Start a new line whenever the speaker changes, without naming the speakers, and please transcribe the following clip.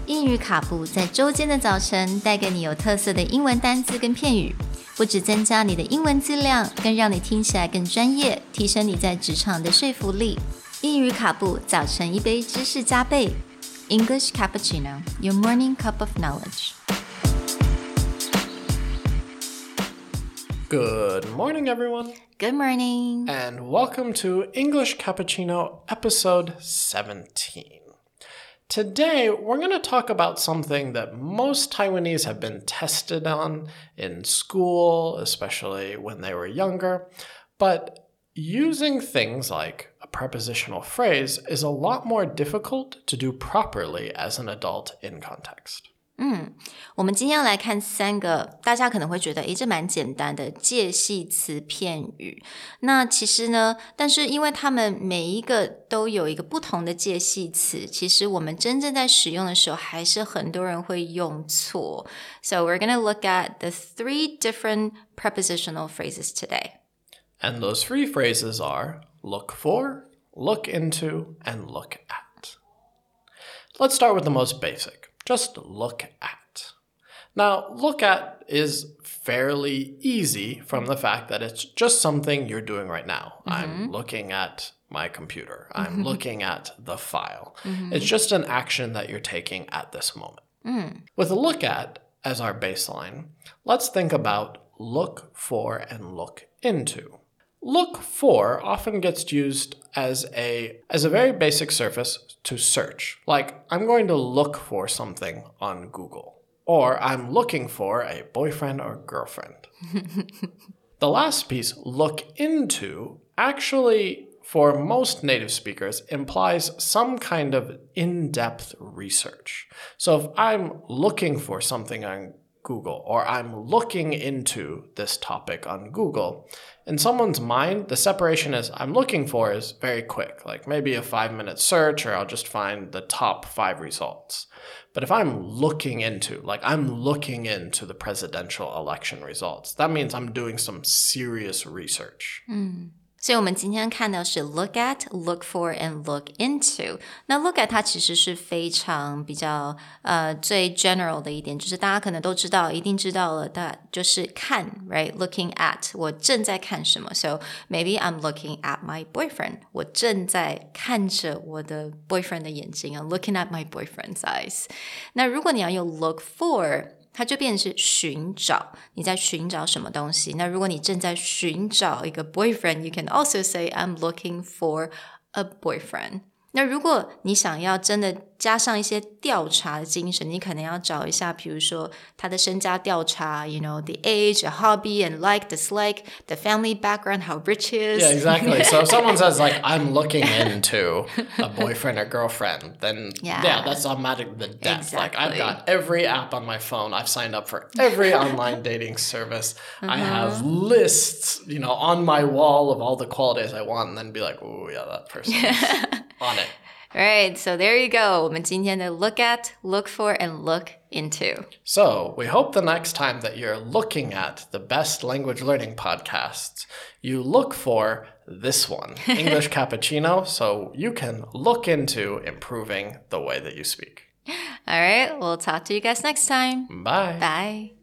英语卡布在周间的早晨带给你有特色的英文单字跟片语，不只增加你的英文质量，更让你听起来更专业，提升你在职场的说服力。英语卡布早晨一杯知识加倍 English Cappuccino, your morning cup of knowledge.
Good morning, everyone.
Good morning.
And welcome to English Cappuccino episode 17. Today, we're going to talk about something that most Taiwanese have been tested on in school, especially when they were younger. But using things like a prepositional phrase is a lot more difficult to do properly as an adult in context.
我们今天要来看3个大家可能会觉得这蛮简单的介系词片语。那其实呢，但是因为他们每一个都有一个不同的介系词，其实我们真正在使用的时候还是很多人会用错。So we're going to look at the 3 different prepositional phrases today.
And those 3 phrases are look for, look into, and look at. Let's start with the most basic.Just look at. Now, look at is fairly easy from the fact that it's just something you're doing right now. I'm looking at my computer. I'm looking at the file. It's just an action that you're taking at this moment. With look at as our baseline, let's think about look for and look into. Look for often gets used as a very basic surface to search. Like, I'm going to look for something on Google. Or I'm looking for a boyfriend or girlfriend. The last piece, look into, actually, for most native speakers, implies some kind of in-depth research. So if I'm looking for something on Google, or I'm looking into this topic on Google, in someone's mind, the separation is I'm looking for is very quick, like maybe a 5-minute search, or I'll just find the top 5 results. But if I'm looking into, like I'm looking into the presidential election results, that means I'm doing some serious research.
所以我们今天看到是 look at, look for, and look into. 那 look at 它其实是非常比较最 general 的一点，就是大家可能都知道，一定知道了，就是看 right? Looking at 我正在看什么 So maybe I'm looking at my boyfriend 我正在看着我的 boyfriend 的眼睛 I'm looking at my boyfriend's eyes 那如果你要用 look for它就变成是寻找，你在寻找什么东西。那如果你正在寻找一个 boyfriend, you can also say I'm looking for a boyfriend. 那如果你想要真的加上一些调查的精神，你可能要找一下，比如说他的身家调查 you know, the age, a hobby, and like, dislike, the family background, how rich he is.
Yeah, exactly. So if someone says, like, I'm looking into a boyfriend or girlfriend, then, yeah that's automatic the depth.
Exactly.
Like, I've got every app on my phone. I've signed up for every online dating service. I have lists, you know, on my wall of all the qualities I want, and then be like, oh, yeah, that person is on it.
Right, so there you go. 我们今天的 look at, look for, and look into.
So we hope the next time that you're looking at the best language learning podcasts, you look for this one, English Cappuccino, so you can look into improving the way that you speak.
All right, we'll talk to you guys next time.
Bye.
Bye.